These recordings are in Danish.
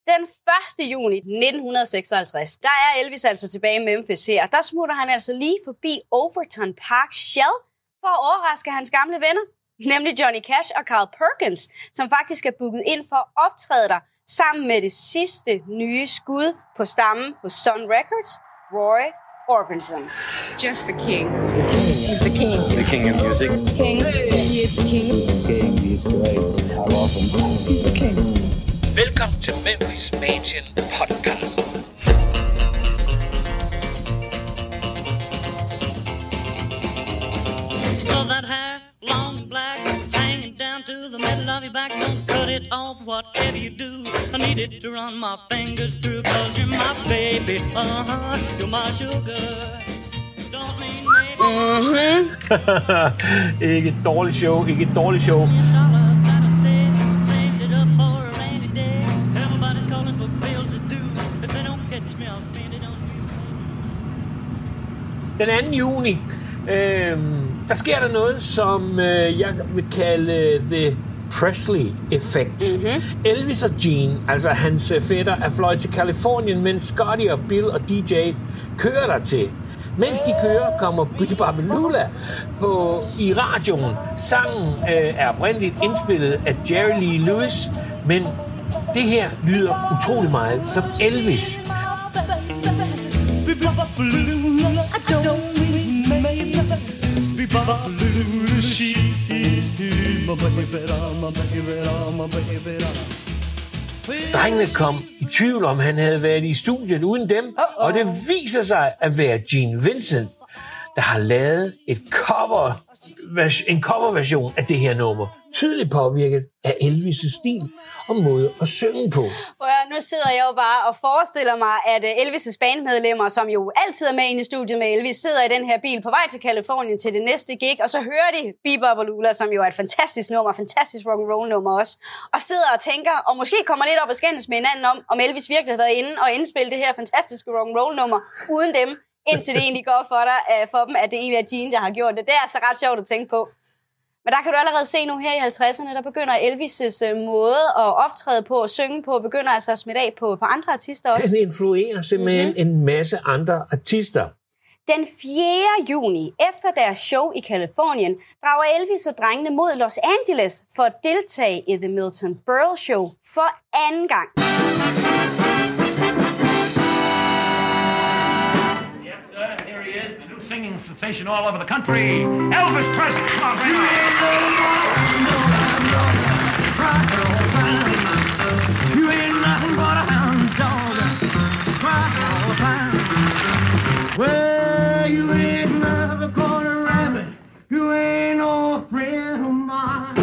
Den 1. juni 1956, der er Elvis altså tilbage i Memphis her. Der smutter han altså lige forbi Overton Park Shell for at overraske hans gamle venner, nemlig Johnny Cash og Carl Perkins, som faktisk er booket ind for at optræde der sammen med det sidste nye skud på stammen på Sun Records, Roy Orbison. Just the king. He's the king. The king of music. King. He is the king. King, he's great. I love him. He's the king. Velkommen til Memphis Mansion Podcast. So that hair, long and black, hanging down to the middle of your back. Don't cut it off, whatever you do. I need it to run my fingers through, 'cause you're my baby, you're my sugar. Don't mean maybe. Ikke et dårligt show, ikke et dårligt show. Den 2. juni, der sker der noget, som jeg vil kalde The Presley-effekt. Elvis og Gene, altså hans fætter, er fløjet til Californien, mens Scotty og Bill og DJ kører der til. Mens de kører, kommer Bibbidi-Bobbidi-Lula i radioen. Sangen er oprindeligt indspillet af Jerry Lee Lewis, men det her lyder utrolig meget som Elvis. Drengene kom i tvivl om, han havde været i studiet uden dem, og det viser sig at være Gene Vincent, der har lavet en coverversion af det her nummer. Tydeligt påvirket af Elvis' stil og måde at synge på. Nu sidder jeg jo bare og forestiller mig, at Elvis' bandmedlemmer, som jo altid er med inde i studiet med Elvis, sidder i den her bil på vej til Californien til det næste gig, og så hører de Bibbidi-Bobbidi-Lula, som jo er et fantastisk nummer, fantastisk rock'n'roll nummer også, og sidder og tænker, og måske kommer lidt op og skændes med hinanden om Elvis virkelig har været inde og indspille det her fantastiske rock'n'roll nummer uden dem, indtil det egentlig går for dem, at det egentlig er Gene, der har gjort det. Det er altså ret sjovt at tænke på. Men der kan du allerede se nu her i 50'erne, der begynder Elvis' måde at optræde på og synge på, begynder altså at smitte af på andre artister også. Han influerer simpelthen en masse andre artister. Den 4. juni, efter deres show i Californien, drager Elvis og drengene mod Los Angeles for at deltage i The Milton Berle Show for anden gang. Singing sensation all over the country, Elvis Presley. Come on, bring You ain't nothing but a hound dog, crying all the time. Well, you ain't never caught a rabbit. You ain't no friend of mine.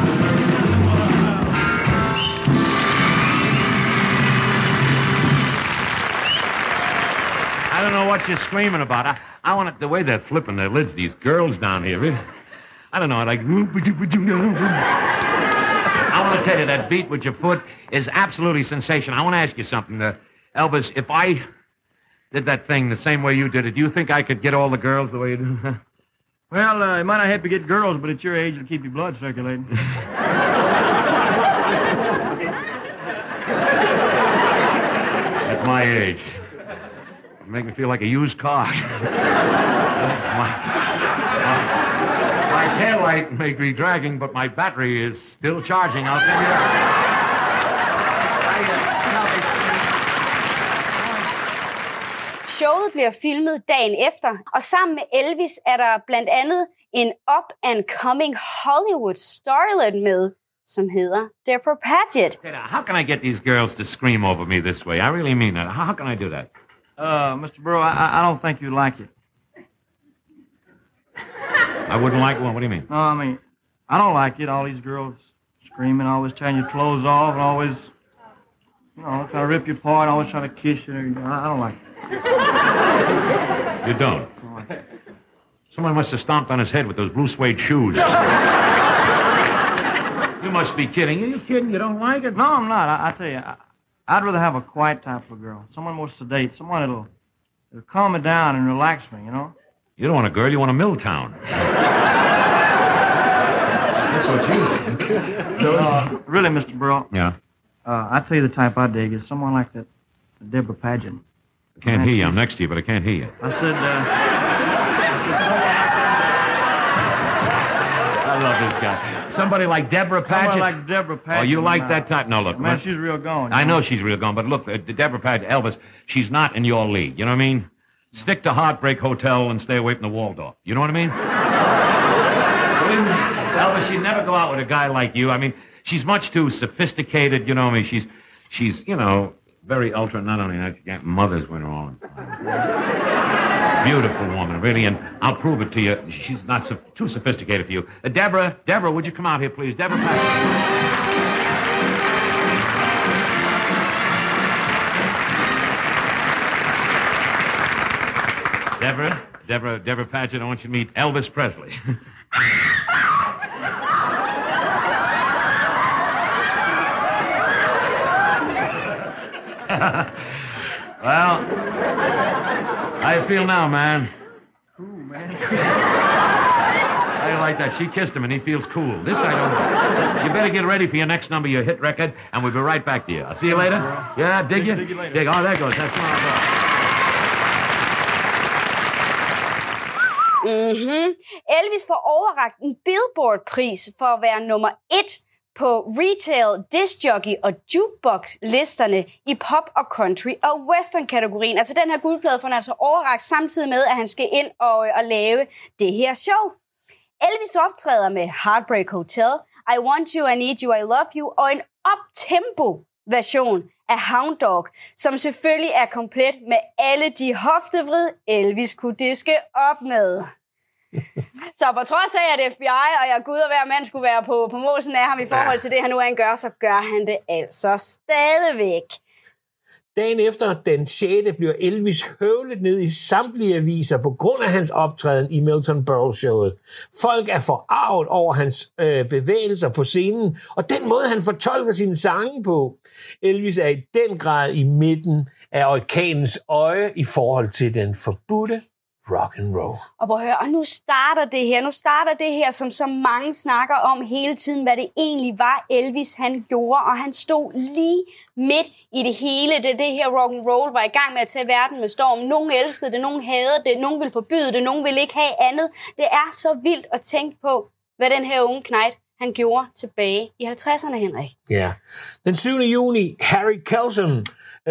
I don't know what you're screaming about. I want it the way they're flipping their lids, these girls down here. I don't know, like... I want to tell you, that beat with your foot is absolutely sensational. I want to ask you something. Elvis, if I did that thing the same way you did it, do you think I could get all the girls the way you do? Well, you might not help you get girls, but at your age, it'll keep your blood circulating. At my age. It make me feel like a used car. My taillight may be dragging, but my battery is still charging. I'll tell you that. Showet bliver filmet dagen efter, og sammen med Elvis er der blandt andet en up-and-coming Hollywood starlet med, som hedder Deborah Paget. How can I get these girls to scream over me this way? I really mean that. How can I do that? Mr. Burrow, I don't think you'd like it. I wouldn't like one? What do you mean? No, I mean, I don't like it. All these girls screaming, always tearing your clothes off, and always, trying to rip you apart, always trying to kiss you. I don't like it. You don't? Someone must have stomped on his head with those blue suede shoes. You must be kidding. Are you kidding? You don't like it? No, I'm not. I tell you, I'd rather have a quiet type of girl. Someone more sedate. Someone that'll calm me down and relax me, You don't want a girl, you want a Milltown. That's what you really, Mr. Burrow. Yeah. I tell you the type I dig is someone like that Deborah Paget. I can't hear you. I'm next to you, but I can't hear you. I said I love this guy. Somebody like Deborah Paget? someone like Deborah Paget. Oh, you like that type? No, look. Man, she's real gone. I know she's real gone, but look, Deborah Paget, Elvis, she's not in your league. You know what I mean? Stick to Heartbreak Hotel and stay away from the Waldorf. You know what I mean? Elvis, she'd never go out with a guy like you. I mean, she's much too sophisticated, you know what I mean? She's, you know, very ultra, not only that, she got mothers went wrong. Beautiful woman, really, and I'll prove it to you. She's not too sophisticated for you. Deborah, would you come out here, please? Deborah Paget. Deborah Paget, I want you to meet Elvis Presley. Well, how you feel now, man? Cool, man. How you like that? She kissed him and he feels cool. This I don't know. You better get ready for your next number, your hit record, and we'll be right back to you. I'll see you later. Yeah, dig you? Dig you later. Dig. Oh, there goes. That's my Elvis får overrakt en Billboard-pris for at være nummer 1 på retail, discjockey og jukebox-listerne i pop og country og western-kategorien. Altså den her guldplade får han altså overrakt samtidig med, at han skal ind og lave det her show. Elvis optræder med Heartbreak Hotel, I Want You, I Need You, I Love You og en up-tempo-version af Hound Dog, som selvfølgelig er komplet med alle de hoftevrid, Elvis kunne diske op med. Så på trods af, at FBI og jeg gud og hver mand skulle være på mosen af ham i forhold til det, han nu engang gør, så gør han det altså stadigvæk. Dagen efter den 6. bliver Elvis høvlet ned i samtlige aviser på grund af hans optræden i Milton Berle-showet. Folk er forarvet over hans bevægelser på scenen, og den måde, han fortolker sine sange på. Elvis er i den grad i midten af orkanens øje i forhold til den forbudte rock and roll. Og prøv at høre, og nu starter det her, som så mange snakker om hele tiden, hvad det egentlig var Elvis, han gjorde, og han stod lige midt i det hele. Det her rock and roll var i gang med at tage verden med storm. Nogen elskede det, nogen hadede det, nogen ville forbyde det, nogen ville ikke have andet. Det er så vildt at tænke på, hvad den her unge knejt, han gjorde tilbage i 50'erne, Henrik. Ja. Den 7. juni, Harry Kelsom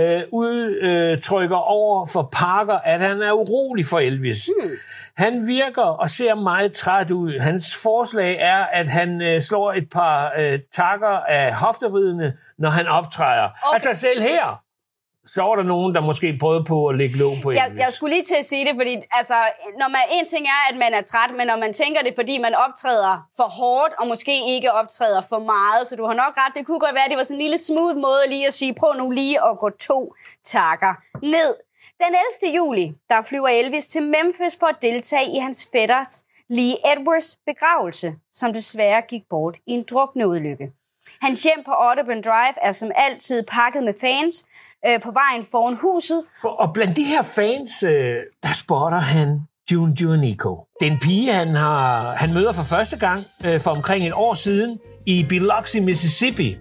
udtrykker over for Parker, at han er urolig for Elvis. Han virker og ser meget træt ud. Hans forslag er, at han slår et par takker af hoftevridene, når han optræder. Okay. Altså selv her, så var der nogen, der måske prøvede på at lægge låg på Elvis. Jeg skulle lige til at sige det, fordi altså, en ting er, at man er træt, men når man tænker det, fordi man optræder for hårdt, og måske ikke optræder for meget, så du har nok ret. Det kunne godt være, at det var sådan en lille smooth måde lige at sige, prøv nu lige at gå 2 takker ned. Den 11. juli, der flyver Elvis til Memphis for at deltage i hans fætters Lee Edwards begravelse, som desværre gik bort i en drukneulykke. Hans hjem på Audubon Drive er som altid pakket med fans, på vejen foran huset. Og blandt de her fans, der spotter han June Juanico. Det er en pige, han møder for første gang for omkring et år siden i Biloxi, Mississippi.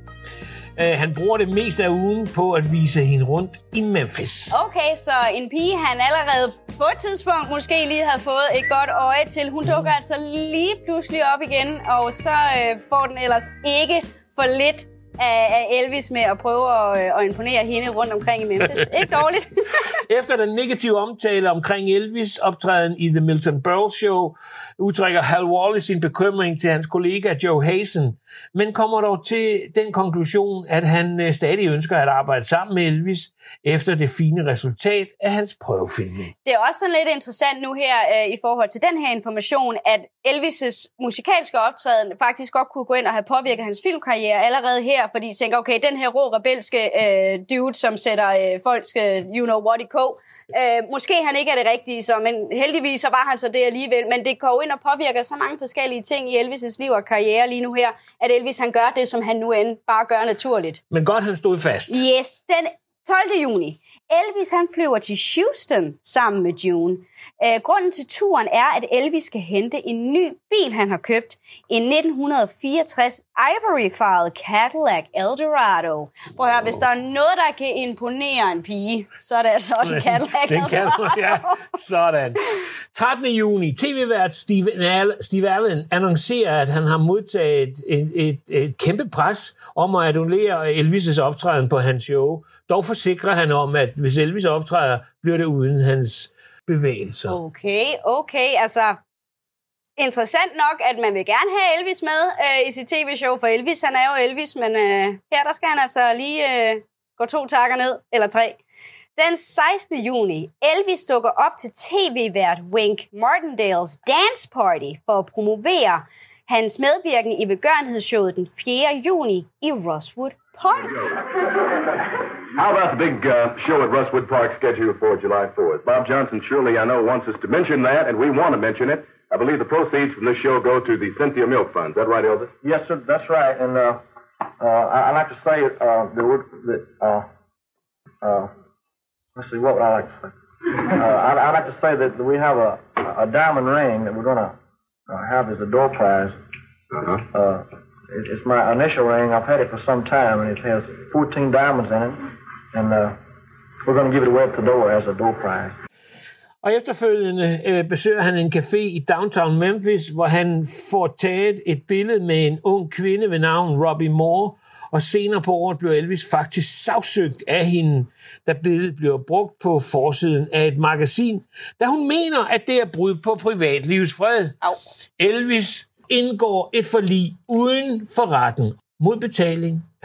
Han bruger det meste af ugen på at vise hende rundt i Memphis. Okay, så en pige, han allerede på et tidspunkt måske lige havde fået et godt øje til. Hun dukker altså lige pludselig op igen, og så får den ellers ikke for lidt af Elvis med at prøve at imponere hende rundt omkring i Memphis. Ikke dårligt. Efter den negative omtale omkring Elvis optræden i The Milton Berle Show, udtrykker Hal Wallis sin bekymring til hans kollega Joe Hazen, men kommer dog til den konklusion, at han stadig ønsker at arbejde sammen med Elvis efter det fine resultat af hans prøvefilmning. Det er også sådan lidt interessant nu her i forhold til den her information, at Elvis' musikalske optræden faktisk godt kunne gå ind og have påvirket hans filmkarriere allerede her, fordi de tænker, okay, den her rå rebelske dude, som sætter folks you know what i kog, måske han ikke er det rigtige, så, men heldigvis så var han så det alligevel, men det går jo ind og påvirker så mange forskellige ting i Elvis' liv og karriere lige nu her, at Elvis han gør det, som han nu end bare gør naturligt. Men godt, han stod fast. Yes, den 12. juni. Elvis han flyver til Houston sammen med June. Grunden til turen er, at Elvis skal hente en ny bil, han har købt. En 1964 ivory-farvet Cadillac Eldorado. Prøv at høre, hvis der er noget, der kan imponere en pige, så er det altså også en Cadillac Eldorado. Ja, sådan. 13. juni. TV-vært Steve Allen annoncerer, at han har modtaget et kæmpe pres om at annullere Elvis' optræden på hans show. Dog forsikrer han om, at hvis Elvis optræder, bliver det uden hans bevægelser. Okay. Altså, interessant nok, at man vil gerne have Elvis med i sit tv-show, for Elvis, han er jo Elvis, men her der skal han altså lige gå 2 takker ned, eller 3. Den 16. juni, Elvis dukker op til tv-vært Wink Martindales Dance Party for at promovere hans medvirken i velgørenhedsshowet den 4. juni i Rosewood Park. How about the big show at Rosewood Park scheduled for July 4th? Bob Johnson, surely I know, wants us to mention that, and we want to mention it. I believe the proceeds from this show go to the Cynthia Milk Fund. Is that right, Elvis? Yes, sir, that's right. And I'd like to say let's see, what would I like to say? I'd like to say that we have a diamond ring that we're going to have as a door prize. It's my initial ring. I've had it for some time, and it has 14 diamonds in it. And we're going to give it away at the door as a door prize. Og efterfølgende besøger han en café i downtown Memphis, hvor han får taget et billede med en ung kvinde ved navn Robbie Moore, og senere på året bliver Elvis faktisk sagsøgt af hende, da billedet bliver brugt på forsiden af et magasin, da hun mener, at det er brud på privatlivets fred. Elvis indgår et forlig uden for retten mod betaling af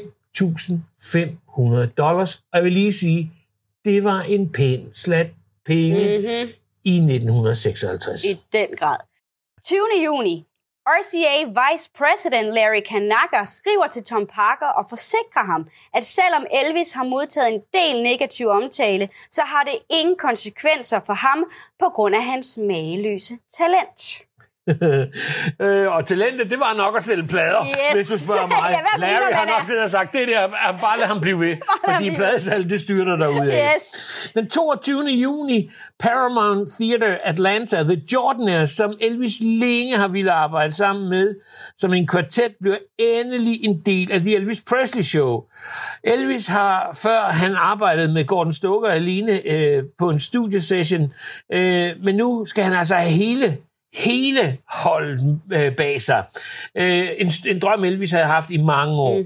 $5.500. Og jeg vil lige sige, det var en pæn slat penge i 1956. I den grad. 20. juni. RCA Vice President Larry Kanaka skriver til Tom Parker og forsikrer ham, at selvom Elvis har modtaget en del negativ omtale, så har det ingen konsekvenser for ham på grund af hans mageløse talent. Og talentet, det var nok at sælge plader, hvis du spørger mig. Larry har nok selv sagt, det der, bare lad ham blive ved, fordi pladesalget, det styrter derudad. Den 22. juni, Paramount Theater Atlanta, The Jordanaires, som Elvis længe har ville arbejde sammen med, som en kvartet, bliver endelig en del af The Elvis Presley Show. Elvis har, før han arbejdede med Gordon Stoker alene på en studiesession, men nu skal han altså have hele holdet bag sig. En drøm, Elvis havde haft i mange år.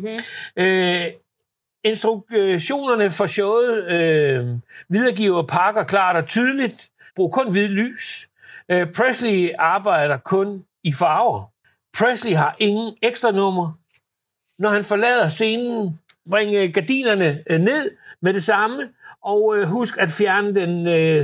Instruktionerne for showet videregiver Parker klart og tydeligt. Brug kun hvid lys. Presley arbejder kun i farver. Presley har ingen ekstra nummer. Når han forlader scenen, bring gardinerne ned med det samme, og husk at fjerne den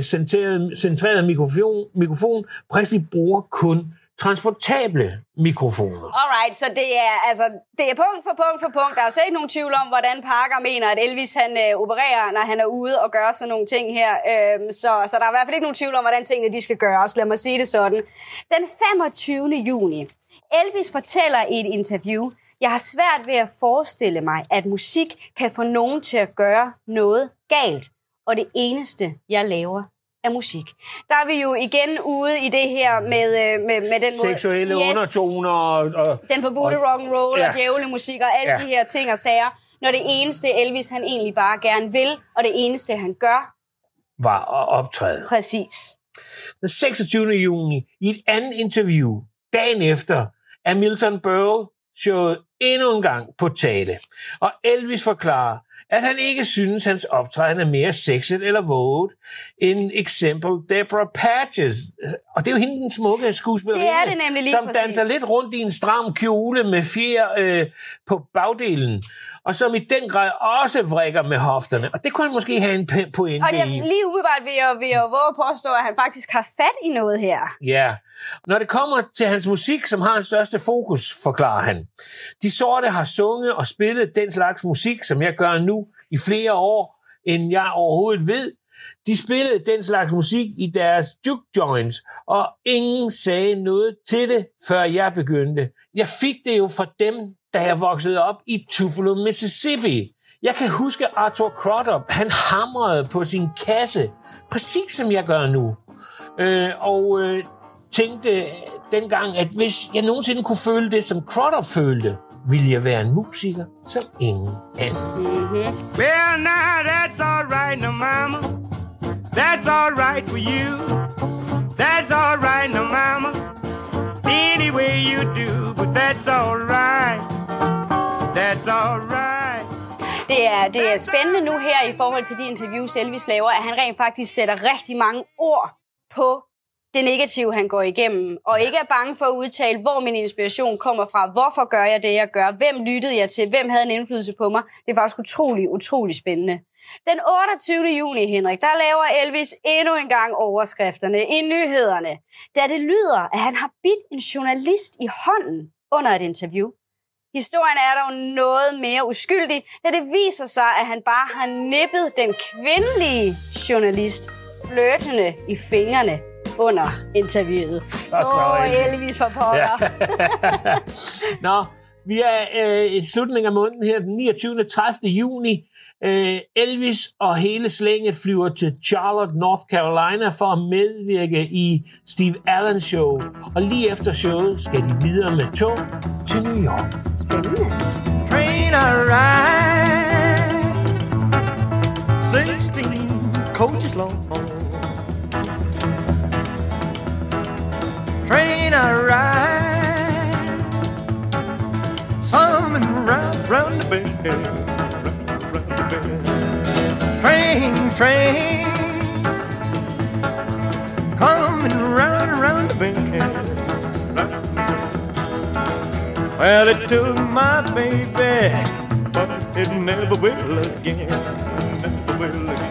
centrerede mikrofon. Presley bruger kun transportable mikrofoner. Alright, så det er punkt for punkt. Der er altså ikke nogen tvivl om, hvordan Parker mener, at Elvis han opererer, når han er ude og gør sådan nogle ting her. Så der er i hvert fald ikke nogen tvivl om, hvordan tingene de skal gøres. Lad mig sige det sådan. Den 25. juni. Elvis fortæller i et interview, jeg har svært ved at forestille mig, at musik kan få nogen til at gøre noget galt. Og det eneste, jeg laver, er musik. Der er vi jo igen ude i det her med den seksuelle undertoner og den forbudte rock'n'roll og djævlemusik og alle de her ting og sager. Når det eneste Elvis, han egentlig bare gerne vil, og det eneste, han gør, var at optræde. Præcis. Den 26. juni, i et andet interview, dagen efter, er Milton Berle showet endnu en gang på tale. Og Elvis forklarer, at han ikke synes, hans optræden er mere sexet eller våget end eksempel Deborah Patches. Og det er jo hende, den smukke skuespillerinde, det er det nemlig lige som præcis. danser lidt rundt i en stram kjole med fjer på bagdelen, og som i den grad også vrikker med hofterne. Og det kunne han måske have en pointe i. Og lige umiddelbart vil jeg våge at påstå, at han faktisk har fat i noget her. Ja. Når det kommer til hans musik, som har hans største fokus, forklarer han. De sorte har sunget og spillet den slags musik, som jeg gør nu i flere år, end jeg overhovedet ved. De spillede den slags musik i deres juke joints, og ingen sagde noget til det, før jeg begyndte. Jeg fik det jo fra dem, da jeg voksede op i Tupelo, Mississippi. Jeg kan huske Arthur Crudup, han hamrede på sin kasse, præcis som jeg gør nu. og tænkte dengang, at hvis jeg nogensinde kunne føle det, som Crudup følte, ville jeg være en musiker som ingen anden. Well, now that's all right, no mama. That's all right for you. That's all right, no mama. Any way you do, but that's all right. That's all right. Det er spændende nu her i forhold til de interviews, Elvis laver, at han rent faktisk sætter rigtig mange ord på det negative, han går igennem, og ikke er bange for at udtale, hvor min inspiration kommer fra, hvorfor gør jeg det, jeg gør, hvem lyttede jeg til, hvem havde en indflydelse på mig. Det er faktisk utrolig spændende. Den 28. juni, Henrik, der laver Elvis endnu en gang overskrifterne i nyhederne, da det lyder, at han har bidt en journalist i hånden under et interview. Historien er dog noget mere uskyldig, da det viser sig, at han bare har nippet den kvindelige journalist flirtende i fingrene under interviewet. Elvis for pokker. Ja. Nå, vi er i slutningen af måneden her, den 29. 30. juni. Elvis og hele slænget flyver til Charlotte, North Carolina for at medvirke i Steve Allen Show. Og lige efter showet skal de videre med tog til New York. Spændende. Train I ride 16 coaches long. Train I ride coming round the bend. Train coming round the bend. Well, it took my baby, but it never will again. Never will again.